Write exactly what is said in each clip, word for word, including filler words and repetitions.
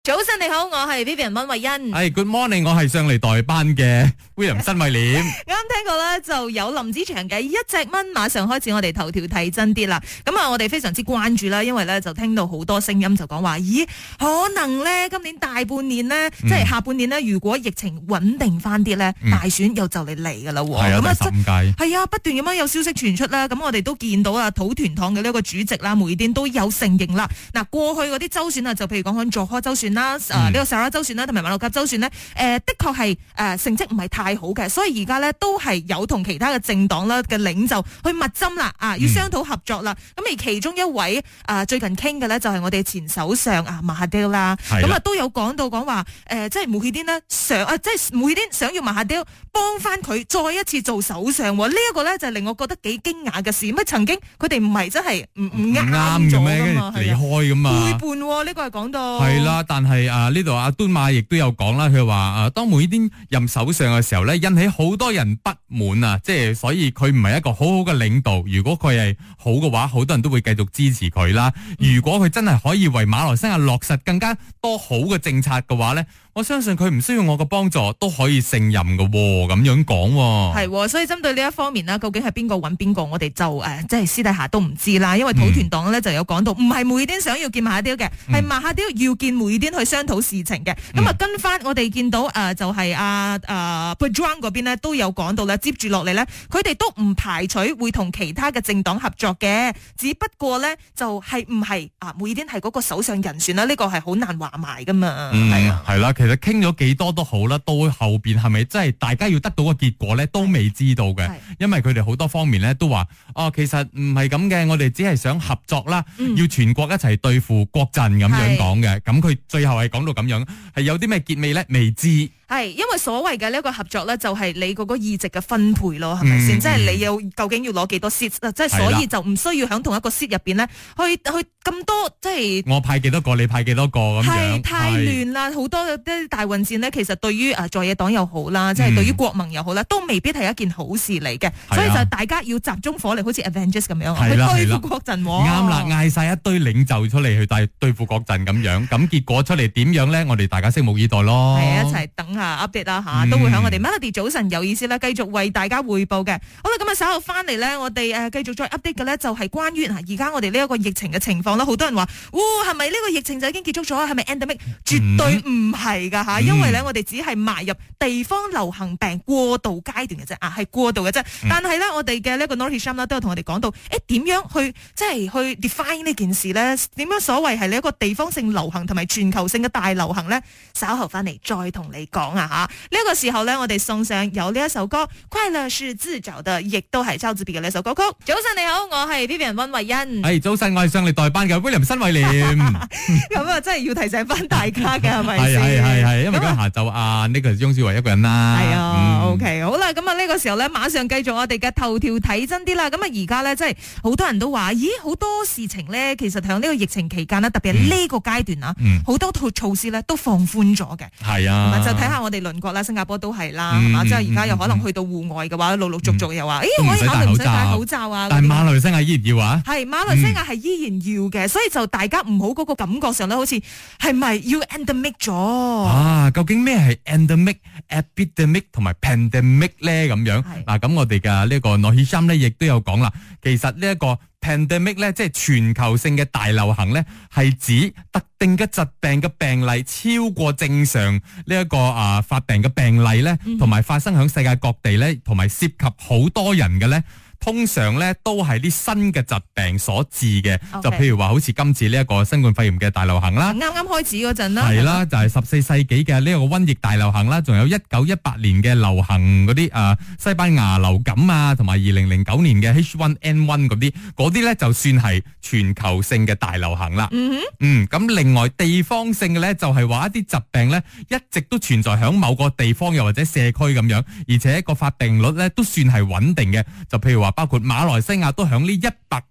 早晨你好，我係 Vivian 溫慧欣。 係、hey, Good morning， 我係上嚟代班嘅 William 新慧廉。 啱聽過咧，就有林子祥嘅一隻蚊，馬上開始我哋頭條睇真啲啦。咁啊，我哋非常之關注啦，因為咧就聽到好多聲音就講話，咦，可能咧今年大半年咧，嗯、即係下半年咧，如果疫情穩定翻啲咧，嗯、大選又就嚟嚟噶啦。 係啊，第十五屆。 係啊，不斷咁樣有消息傳出啦。咁我哋都見到啊，土團黨嘅呢一個主席啦，梅甸都有承認啦。嗱，過去嗰啲州選啊，就譬如講緊佐科州選啦，誒、嗯、呢、這個沙拉州選啦，同埋馬六甲州選呢，誒、呃、的確係誒成績唔係太好嘅，所以而家呢，都係有同其他嘅政黨啦嘅領袖去密針啦，啊要商討合作啦。咁、嗯、而其中一位誒、呃、最近傾嘅呢，就係我哋前首相啊馬哈迪啦，咁啊都有講到講話誒，即係穆希丁呢，想啊，即係穆希丁想要馬哈迪幫翻佢再一次做首相，呢、這、一個呢，就令我覺得幾驚訝嘅事。乜曾經佢哋唔係真係唔唔啱咗嘅嘛， 離開咁嘛， 背叛呢、這個係講到係啦，但係啊呢度阿敦馬亦都有講啦，佢話啊當梅甸任首相嘅時候咧，引起好多人不滿啊，即係所以佢唔係一個好好嘅領導。如果佢係好嘅話，好多人都會繼續支持佢啦。如果佢真係可以為馬來西亞落實更加多好嘅政策嘅話咧，我相信佢唔需要我嘅幫助都可以勝任嘅，咁樣講係。所以針對呢一方面啦，究竟係邊個揾邊個，我哋就誒即係私底下都唔知啦。因為土團黨咧就有講到，唔係梅甸想要見馬哈迪嘅，係馬哈迪要見梅甸去商討事情嘅。咁啊、嗯，跟翻我哋見到誒、呃，就係阿阿 Pejuang 嗰邊呢都有講到啦。接住落嚟呢，佢哋都唔排除會同其他嘅政黨合作嘅，只不過呢，就係唔係啊梅甸係嗰個首相人選啦？呢、這個係好難話埋噶嘛。 嗯，係啊，係啦。其實傾咗幾多都好啦，到後邊係咪真係大家要得到個結果呢？都未知道嘅。因為佢哋好多方面呢都話，哦，其實唔係咁嘅，我哋只係想合作啦，嗯、要全國一齊對付國陣咁樣講嘅。咁佢最後係講到咁樣，係有啲咩結尾呢？未知。 係，因為所謂嘅呢一個合作咧，就係你嗰個議席嘅分配咯，係咪先？即係你要究竟要攞幾多 seat，即係所以就唔需要喺同一個 seat 入邊咧，去去咁多，即係我派幾多個，你派幾多個咁樣。 係太亂啦，好多啲大混戰呢，其實對於誒在野黨又好啦，即係對於國民又好啦，都未必係一件好事嚟嘅。所以就大家要集中火力，好似 Avengers 咁樣去對付國陣。 啱啦，嗌晒一堆領袖出嚟去對對付國陣咁樣，咁結果出嚟點樣咧？我哋大家拭目以待咯。 係一齊等下 update 啦吓，都會喺我哋 Melody 早晨有意思啦，繼續為大家匯報嘅。好啦，咁啊稍後翻嚟咧，我哋誒繼續再 update 嘅咧，就係關於而家我哋呢一個疫情嘅情況啦。好多人話，哇，係咪呢個疫情就已經結束咗？係咪 endemic？絕對唔係噶吓，因為咧我哋只係邁入地方流行病過渡階段嘅啫，啊係過渡嘅啫。嗯、但係咧，我哋嘅呢一個 Noor Hisham 啦，都有同我哋講到，誒點樣去即係去 define 呢件事咧？點樣所謂係你一個地方性流行同埋全球性嘅大流行咧？稍後翻嚟再同你講啊吓。呢、這個時候咧，我哋送上有呢一首歌《快樂是自找的》，亦都係周子別嘅呢首歌曲。早晨你好，我係 Vivian 溫慧欣。 係早晨，我係上嚟代班嘅 William 新慧廉。 咁啊，真係要提醒翻大家嘅係咪先？ 係係係，因為今日下晝啊，呢個係翁舒維一個人啦。 係啊、嗯、，OK， 好啦，咁啊呢個時候咧，馬上繼續我哋嘅頭條睇真啲啦。咁啊而家咧，即係好多人都話，咦，好多事情咧，其實喺呢個疫情期間呢，特別係呢個階段啊，好、嗯、多套措施咧都放寬咗嘅。係啊，就睇下我哋鄰國啦，新加坡都係啦，係嘛、嗯，即係而家又可能去到戶外嘅話，陸陸續續又話，誒、嗯，可以考慮唔使戴口罩啊。 但係馬來西亞依然要啊？ 係馬來西亞係依然要嘅，嗯、所以就大家唔好嗰個感覺上咧，好似係咪要 endemic 咗？ 啊，究竟咩係 endemic、epidemic 同埋 pandemic 咧？咁樣嗱，咁我哋嘅呢個 Noor Hisham 咧，亦都有講啦。其實呢一個 pandemic 咧，即係全球性嘅大流行咧，係指特定嘅疾病嘅病例超過正常呢一個啊發病嘅病例咧，同埋發生響世界各地咧，同埋涉及好多人嘅咧。通常咧都係啲新嘅疾病所致嘅，okay. 就譬如話好似今次呢一個新冠肺炎嘅大流行啦， 啱啱開始嗰陣啦， 係啦，就係十四世紀嘅呢一個瘟疫大流行啦，仲有一九一八年嘅流行嗰啲誒西班牙流感啊，同埋二零零九年嘅 H 一 N 一嗰啲，嗰啲咧就算係全球性嘅大流行啦。嗯哼，嗯，咁另外地方性嘅咧就係話一啲疾病咧一直都存在響某個地方又或者社區咁樣，而且個發病率咧都算係穩定嘅，就譬如話。包括馬來西亞都響呢一百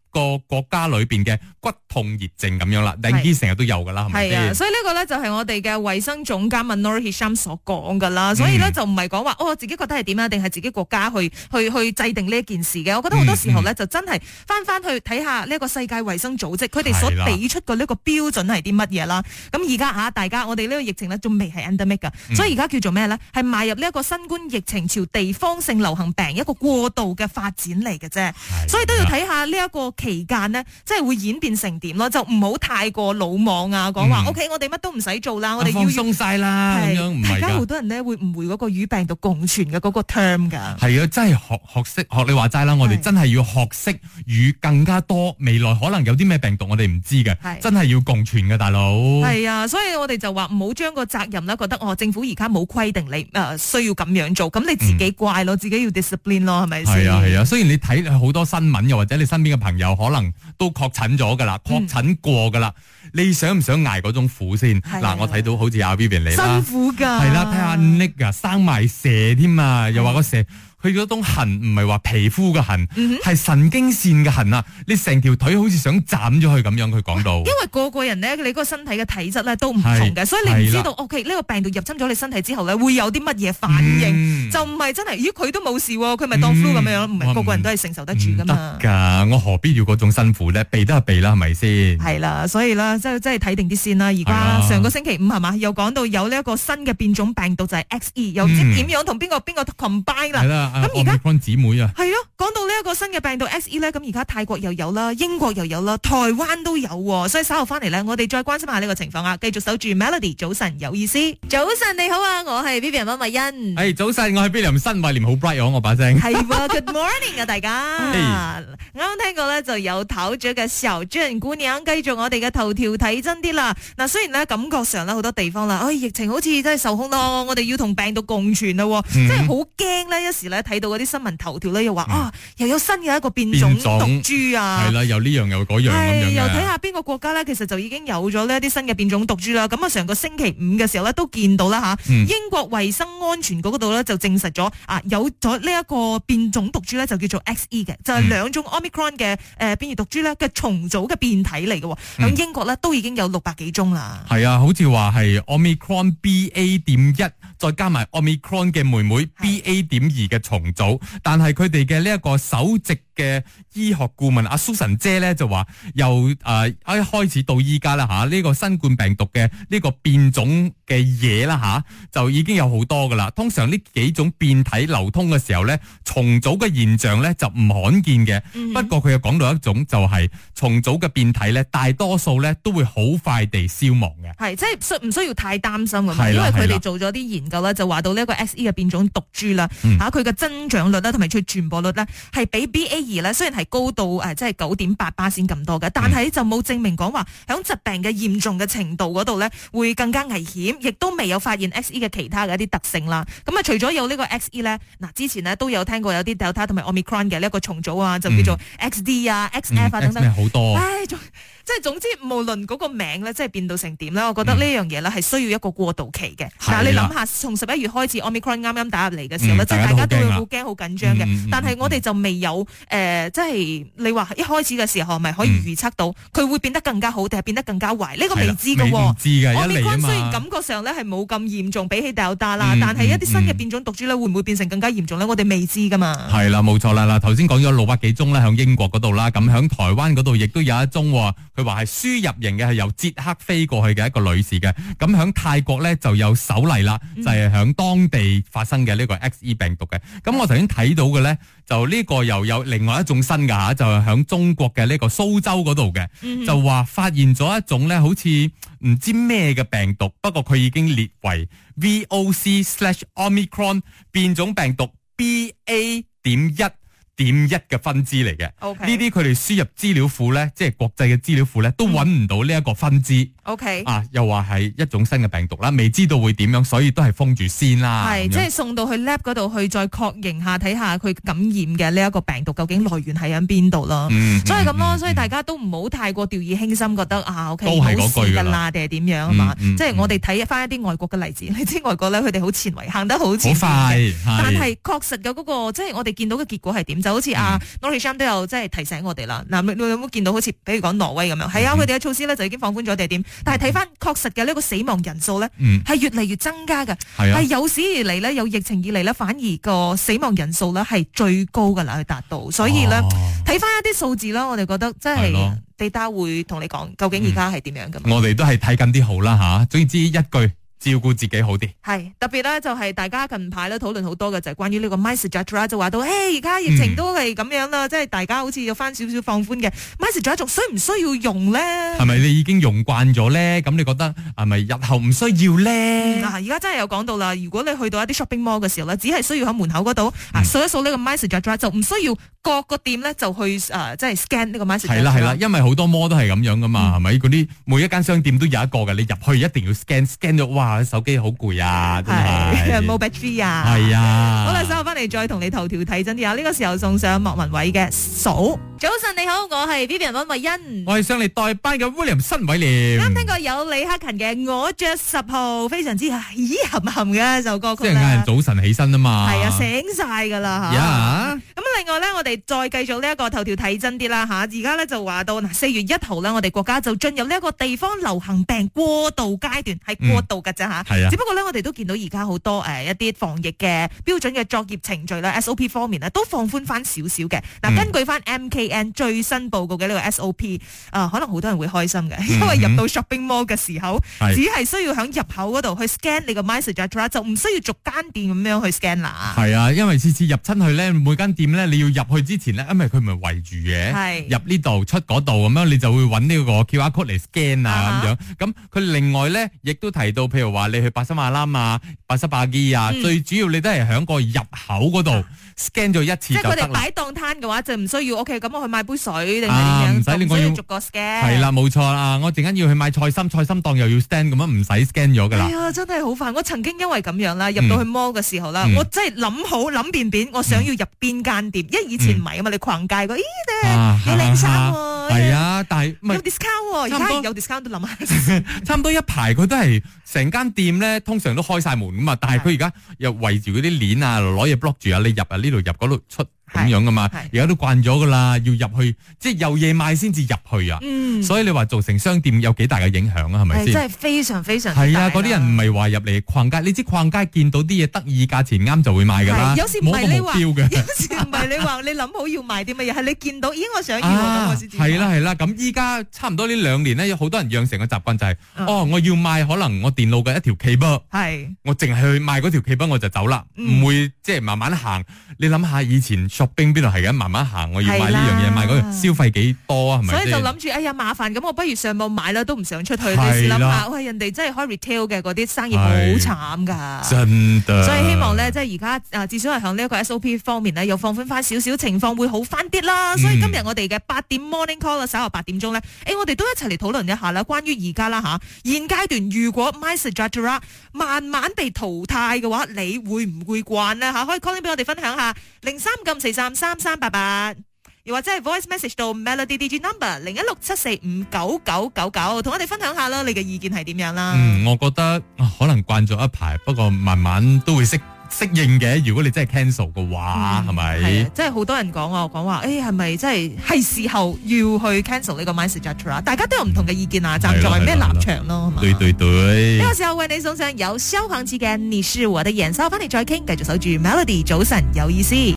個國家裏邊嘅骨痛熱症咁樣啦，dengue成日都有噶啦，係咪先？ 係啊，所以呢個咧就係我哋嘅衛生總監 Noor Hisham 所講噶啦，所以咧就唔係講話哦，自己覺得係點啊，定係自己國家去去去制定呢一件事嘅。我覺得好多時候咧、嗯嗯、就真係翻翻去睇下呢一個世界衛生組織，佢哋所俾出嘅呢個標準係啲乜嘢啦。咁而家吓大家，我哋呢個疫情咧仲未係 endemic 噶，嗯、所以而家叫做咩咧？係邁入呢一個新冠疫情朝地方性流行病一個過渡嘅發展嚟嘅啫，所以都要睇下呢一個期間呢，即係會演變成點咯，就唔好太過魯莽啊，講話 O K，我哋乜都唔使做啦，我哋要放鬆晒啦，咁樣唔係㗎。大家好多人呢會誤會嗰個與病毒共存嘅嗰個 term 㗎。 係啊，真係學學識學你話齋啦，我哋真係要學識與更加多未來可能有啲咩病毒我哋唔知嘅，真係要共存嘅大佬。係啊，所以我哋就話唔好將個責任咧覺得哦，政府而家冇規定你誒、呃、需要咁樣做，咁你自己怪咯，嗯、自己要 discipline 咯，係咪先？ 係啊係啊，雖然你睇好多新聞，又或者你身邊嘅朋友可能都確診咗噶啦，確診過噶啦，嗯、你想唔想捱嗰種苦先？嗱、啊，我睇到好似阿 Vivian 你啦， 辛苦噶， 係啦，睇下 Nick 啊，生埋蛇添啊，又話個蛇。佢嗰種痕唔係話皮膚嘅痕，係、嗯、神經線嘅痕啊！你成條腿好似想斬咗佢咁樣，佢講到。因為個個人咧，你嗰個身體嘅體質咧都唔同嘅，所以你唔知道 OK 呢個病毒入侵咗你身體之後咧，會有啲乜嘢反應，嗯、就唔係真係，咦佢都冇事，佢咪當 flu 咁樣，唔係個個人都係承受得住噶嘛。 得㗎，我何必要嗰種辛苦咧？避得就避啦，係咪先？ 係啦，所以啦，即係即係睇定啲先啦。而家上個星期五係嘛，又講到有呢一個新嘅變種病毒就係 X E， 又唔知點樣同邊個邊個 combine 啦。咁而家姊妹啊， 係咯，講到呢一個新嘅病毒 X E 咧，咁而家泰國又有啦，英國又有啦，台灣都有，所以稍後翻嚟咧，我哋再關心下呢個情況啊，繼續守住 Melody， 早晨有意思，早晨你好啊，我係 Vivian 溫慧欣， 係、hey, 早晨，我係 William 新慧廉，好 bright 我把聲， 係，Good morning 啊大家，啱啱聽過咧就有頭著嘅小鎮姑娘，繼續我哋嘅頭條睇真啲啦，嗱雖然咧感覺上咧好多地方啦，哎疫情好似真係受控咯，我哋要同病毒共存啦，嗯、真係好驚咧，一時咧睇到嗰啲新聞頭條咧又話、嗯、啊，又有新嘅一個變種毒株啊， 係啦，又呢樣又嗰樣咁樣又睇下邊個國家咧，其實就已經有咗呢一啲新嘅變種毒株啦。咁啊，上個星期五嘅時候咧，都見到啦吓，嗯、英國衛生安全局嗰度咧就證實咗啊，有咗呢一個變種毒株咧，就叫做 X E 嘅，就係、是、兩種 Omicron 嘅誒變異毒株咧嘅重組嘅變體嚟嘅。咁、嗯、英國咧都已經有六百幾宗啦。係啊，好似話係 Omicron B A 點一，再加埋 Omicron 嘅妹妹 B A 點二嘅重組，但係佢哋嘅呢一個首席嘅醫學顧問阿 Susan 姐咧就話，由誒、呃、一開始到依家啦吓，呢、這個新冠病毒嘅呢個變種嘅嘢啦吓，就已經有好多噶啦。通常呢幾種變體流通嘅時候咧，重組嘅現象咧就唔罕見嘅。嗯、不過佢又講到一種就係、是、重組嘅變體咧，大多數咧都會好快地消亡嘅。 係即係需唔需要太擔心咁啊？因為佢哋做咗啲研究啦，就話到呢一個 X E 嘅變種毒株啦，吓佢嘅增長率啦，同埋佢傳播率咧係比 B A 二咧雖然係高到誒即係九點八巴仙咁多嘅，但係就冇證明講話響疾病嘅嚴重嘅程度嗰度咧會更加危險，亦都未有發現 X E 嘅其他嘅一啲特性啦。咁啊，除咗有呢個 X E 咧，嗱之前呢都有聽過有啲 Delta 同埋 Omicron 嘅呢一個重組啊，就叫做 X D 啊、嗯、X F 啊等等， 好多。 唉，即係總之無論嗰個名咧，即係變到成點咧，我覺得呢樣嘢咧係需要一個過渡期嘅。嗱、嗯，你諗下，從十一月開始 Omicron 啱啱打入嚟嘅時候咧，即係、嗯、大家都會好驚好緊張嘅，嗯、但係我哋就未有誒、呃，即係你話一開始嘅時候，係咪可以預測到佢會變得更加好，定係變得更加壞？呢、這個未知嘅。未知嘅，一嚟啊嘛。Omicron 雖然感覺上咧係冇咁嚴重，比起 Delta 啦、嗯，但係一啲新嘅變種毒株咧，會唔會變成更加嚴重咧？我哋未知噶嘛。係啦，冇錯啦。嗱，頭先講咗六百幾宗咧，響英國嗰度啦，咁響台灣嗰度亦都有一宗，佢話係輸入型嘅，係由捷克飛過去嘅一個女士嘅。咁響泰國咧就有首例啦，就係響當地發生嘅呢個 X E 病毒嘅。咁我頭先睇到嘅咧，就呢個又有另外一種新嘅吓，就係響中國嘅呢個蘇州嗰度嘅，嗯、就話發現咗一種咧，好似唔知咩嘅病毒，不過佢已經列為 V O C slash Omicron 變種病毒 B A 點一點一嘅分支嚟嘅。呢啲佢哋輸入資料庫咧，即係國際嘅資料庫咧，都揾唔到呢一個分支。O K 啊，又話係一種新嘅病毒啦，未知道會點樣，所以都係封住先啦。係，即係送到去 lab 嗰度去再確認下，睇下佢感染嘅呢一個病毒究竟來源係喺邊度咯。嗯、所以咁咯，嗯、所以大家都唔好太過掉以輕心，覺得啊 O K 冇事噶啦，定係點樣啊嘛？嗯嗯、即係我哋睇翻一啲外國嘅例子，你知外國咧佢哋好前衛，行得好前，好快。但係確實嘅嗰、那個，即係我哋見到嘅結果係點？就實好似阿 Norisham 都有即係提醒我哋啦。嗱，你有冇見到好似比如講挪威咁樣？係啊，佢哋嘅措施咧就已經放寬咗定係點？但係睇翻確實嘅呢個死亡人數咧，係越嚟越增加嘅，係有史以嚟咧有疫情以嚟咧，反而個死亡人數咧係最高噶啦，去達到。所以咧睇翻一啲數字啦，我哋覺得真係地達會同你講，究竟而家係點樣噶？ 我哋都係睇緊啲好啦吓，總之一句。照顧自己好啲， 係特別咧就係大家近排咧討論好多嘅就係關於呢個 MySejahtera 就話到，誒而家疫情都係咁樣啦，嗯、即係大家好似有翻少少放寬嘅 MySejahtera 仲需唔需要用咧？係咪你已經用慣咗咧？咁你覺得係咪日後唔需要咧？嗱、嗯，而家真係有講到啦，如果你去到一啲 shopping mall 嘅時候咧，只係需要喺門口嗰度啊掃一掃呢個 MySejahtera，就唔需要各個店咧就去誒、呃、即係 scan 呢個 MySejahtera。係啦係啦，因為好多 mall 都係咁樣噶嘛，係咪、嗯？嗰啲每一間商店都有一個嘅，你入去一定要 scan scan 咗，哇！手機好攰。啊，係冇 battery 啊，係啊，好啦，稍後翻嚟再同你頭條睇真啲啊！呢個時候送上莫文蔚嘅數。早晨你好，我係 Vivian 溫慧欣，我係上嚟代班嘅 William 新偉廉。啱聽過有李克勤嘅《我着十號》，非常之咦含含嘅一首歌曲啦。即係嗌人早晨起身啊嘛，係啊，醒晒噶啦吓。咁另外咧，我哋再繼續呢一個頭條睇真啲啦吓。而家咧就話到嗱，四月一號咧，我哋國家就進入呢一個地方流行病過渡階段，係過渡噶咋吓。係啊，只不過咧。我哋都見到而家好多誒一啲防疫嘅標準嘅作業程序啦 ，S O P 方面咧都放寬翻少少嘅。嗱，根據翻 M K N 最新報告嘅呢個 S O P， 啊、呃，可能好多人會開心嘅，因為入到 shopping mall 嘅時候，嗯、只係需要喺入口嗰度去 scan 你個 MySejahtera， 就唔需要逐間店咁樣去 scan 啦。係啊，因為次次入親去咧，每間店咧你要入去之前咧，因為佢唔係圍住嘅，係入呢度出嗰度咁樣，你就會揾呢個 Q R code 嚟 scan 啊咁樣。咁佢另外咧亦都提到，譬如話你去百森馬啦啊，八十八機啊，嗯、最主要你都係響個入口嗰度 scan 咗一次就得啦。即係佢哋擺檔攤嘅話，就唔需要 OK，咁我去買杯水定係點樣？唔使你我要逐個 scan。係啦，冇錯啦，我陣間要去買菜心，菜心檔又要 scan，咁樣唔使 scan 咗噶啦。係啊，真係好煩。我曾經因為咁樣啦，入到去 mall 嘅時候啦，嗯、我真係諗好諗便便，我想要入邊間店，因為以前唔係啊嘛，你逛街個，咦咧幾靚衫喎。係啊，但係有 discount，而家有 discount 都諗下。差唔多一排佢都係成間店咧，通常都開晒門噶嘛，但係佢而家又圍住嗰啲鏈啊，攞嘢 block 住啊，你入啊呢度入嗰度出。咁樣噶嘛，而家都慣咗噶啦，要入去即係有嘢賣先至入去啊。嗯，所以你話造成商店有幾大嘅影響啊？係咪先？真係非常非常係啊！嗰啲人唔係話入嚟逛街，你知逛街見到啲嘢得意價錢啱就會買噶啦。有時唔係你話，有時唔係你話，你諗好要買啲乜嘢，係你見到咦我想要咁我先至買。係啦係啦，咁依家差唔多呢兩年咧，有好多人養成嘅習慣就係，哦我要買可能我電腦嘅一條 cable，係我淨係去買嗰條 cable我就走啦，唔會即係慢慢行。你諗下以前。shopping 邊度係咁慢慢行，我要買呢樣嘢，買嗰樣消費幾多啊？係咪？所以就諗住，哎呀麻煩，咁我不如上網買啦，都唔想出去。你試諗下，喂，人哋真係開 retail 嘅嗰啲生意好慘噶，真的。所以希望咧，即係而家啊，至少係向呢一個 S O P 方面咧，又放寬翻少少，情況會好翻啲啦。所以今日我哋嘅八點 morning call 啦，稍後八點鐘咧，誒，我哋都一齊嚟討論一下啦，關於而家啦吓，現階段如果 MySejahtera 慢慢被淘汰嘅話，你會唔會慣呢？吓？可以 call 俾我哋分享下零三九四三三三八八，又或者係 voice message 到 Melody D G number 零一六七四五九九九九，同我哋分享下啦，你嘅意見係點樣啦？嗯，我覺得可能慣咗一排，不過慢慢都會識適應嘅。如果你真係 cancel 嘅話，係咪、嗯？即係好多人講啊，講話誒係咪真係係時候要去 cancel 呢個 MySejahtera？ 大家都有唔同嘅意見啊，站在咩立場咯？對對對。呢個時候為你送上有蕭煌奇嘅《你是我的眼》，收翻嚟再傾，繼續守住 Melody，早晨有意思。